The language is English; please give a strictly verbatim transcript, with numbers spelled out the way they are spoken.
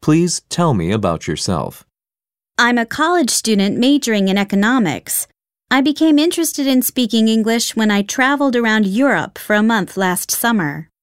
Please tell me about yourself. I'm a college student majoring in economics. I became interested in speaking English when I traveled around Europe for a month last summer.